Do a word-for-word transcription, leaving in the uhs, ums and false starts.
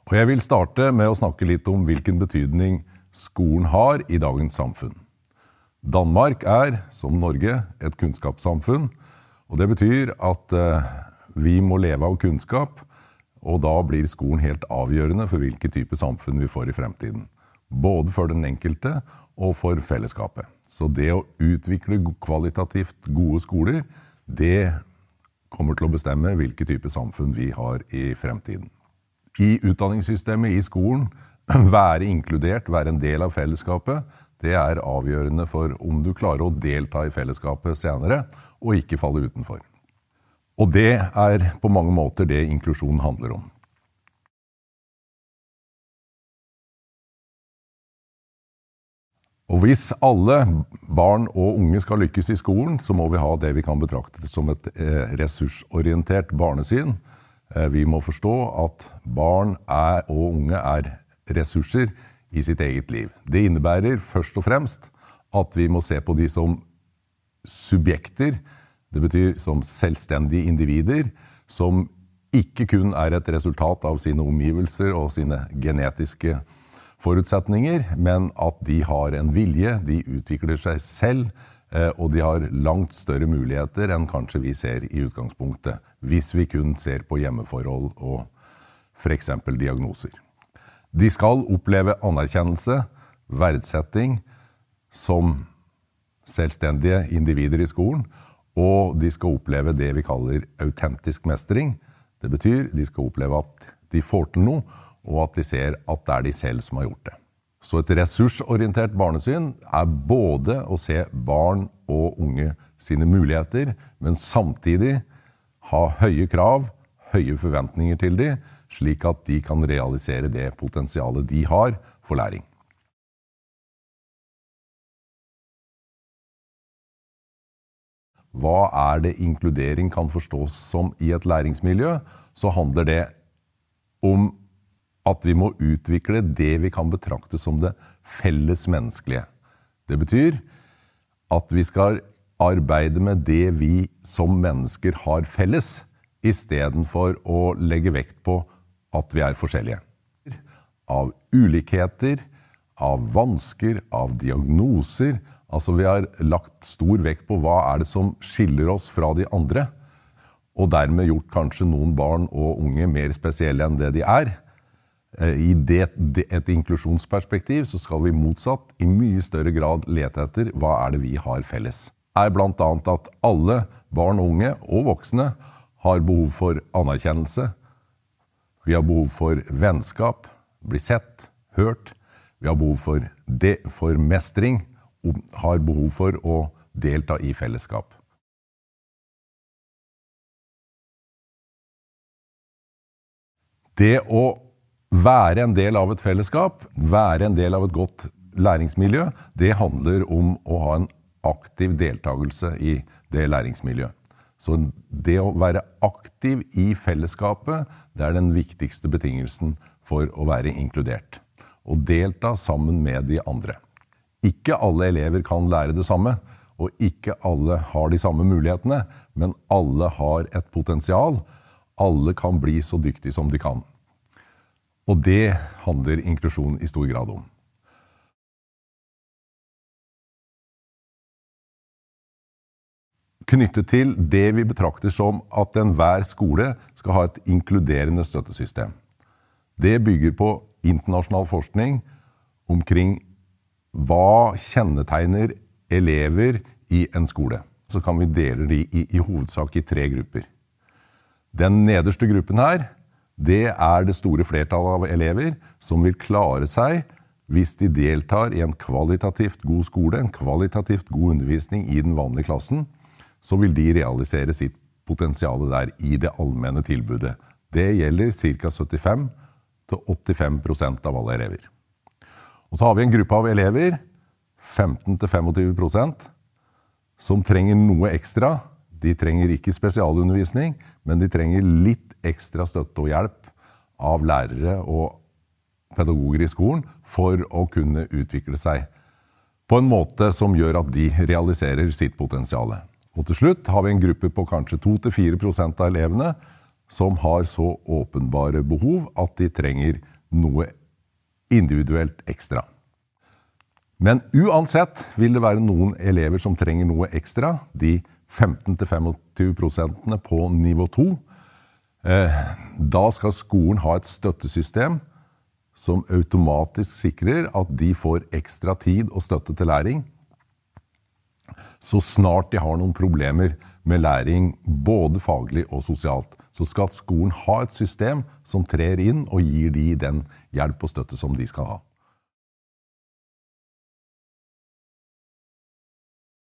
Og jeg vil starte med å snakke litt om hvilken betydning skolen har i dagens samfunn. Danmark er, som Norge, et kunnskapssamfunn, og det betyr at eh, vi må leve av kunnskap, og da blir skolen helt avgjørende for hvilke type samfunn vi får i fremtiden. Både for den enkelte og for fellesskapet. Så det å utvikle kvalitativt gode skoler, det kommer til å bestemme hvilke type samfunn vi har i fremtiden. I utdanningssystemet i skolen, være inkludert, være en del av fellesskapet, det er avgjørende for om du klarer å delta i fellesskapet senere, og ikke falle utenfor. Og det er på mange måter det inklusjon handler om. Og hvis alle barn og unge skal lykkes i skolen, så må vi ha det vi kan betrakte som et ressursorientert barnesyn. Vi må forstå at barn er, og unge er ressurser i sitt eget liv. Det innebærer først og fremst at vi må se på de som subjekter, det betyr som selvstendige individer, som ikke kun er et resultat av sine omgivelser og sine genetiske forutsetninger, men at de har en vilje, de utvikler seg selv, og de har langt større muligheter enn kanskje vi ser i utgangspunktet, hvis vi kun ser på hjemmeforhold og for eksempel diagnoser. De skal oppleve anerkjennelse, verdsetting som selvstendige individer i skolen, og de skal oppleve det vi kaller autentisk mestring. Det betyr de skal oppleve at de får til noe, og at de ser at det er de selv som har gjort det. Så et ressursorientert barnesyn er både å se barn og unge sine muligheter, men samtidig ha høye krav, høye forventninger til dem, slik at de kan realisere det potensialet de har for læring. Hva er det inkludering kan forstås som i et læringsmiljø? Så handler det om at vi må utvikle det vi kan betrakte som det felles menneskelige. Det betyr at vi skal arbeide med det vi som mennesker har felles, i stedet for å legge vekt på at vi er forskjellige. Av ulikheter, av vansker, av diagnoser, altså vi har lagt stor vekt på hva er det som skiller oss fra de andre, og dermed gjort kanskje noen barn og unge mer spesielle enn det de er. I det, det, et inklusjonsperspektiv så skal vi motsatt i mye større grad lete etter hva er det vi har felles. Det er blant annet at alle barn og unge og voksne har behov for anerkjennelse. Vi har behov for vennskap, bli sett, hørt. Vi har behov for, det, for mestring og har behov for å delta i fellesskap. Det å være en del av et fellesskap, være en del av et godt læringsmiljø, det handler om å ha en aktiv deltagelse i det læringsmiljøet. Så det å være aktiv i fellesskapet, det er den viktigste betingelsen for å være inkludert. Og delta sammen med de andre. Ikke alle elever kan lære det samme, og ikke alle har de samme mulighetene, men alle har et potensial. Alle kan bli så dyktige som de kan. Og det handler inklusjon i stor grad om. Knyttet til det vi betrakter som at enhver skole skal ha et inkluderende støttesystem. Det bygger på internasjonal forskning omkring hva kjennetegner elever i en skole. Så kan vi dele de i, i hovedsak i tre grupper. Den nederste gruppen her, det er det store flertallet av elever som vil klare seg hvis de deltar i en kvalitativt god skole, en kvalitativt god undervisning i den vanlige klassen, så vil de realisere sitt potensial der i det allmenne tilbudet. Det gjelder ca syttifem til åttifem prosent av alle elever. Og så har vi en gruppe av elever, femten til tjuefem prosent, som trenger noe ekstra. De trenger ikke spesialundervisning, men de trenger litt ekstra støtte og hjelp av lærere og pedagoger i skolen for å kunne utvikle seg på en måte som gjør at de realiserer sitt potensial. Og til slutt har vi en gruppe på kanskje to til fire prosent av elevene som har så åpenbare behov at de trenger noe individuelt ekstra. Men uansett vil det være noen elever som trenger noe ekstra, de femten til tjuefem prosentene på nivå to. Da skal skolen ha et støttesystem som automatisk sikrer at de får ekstra tid og støtte til læring, så snart de har noen problemer med læring, både faglig og sosialt. Så skal skolen ha et system som trer inn og gir de den hjelp og støtte som de skal ha.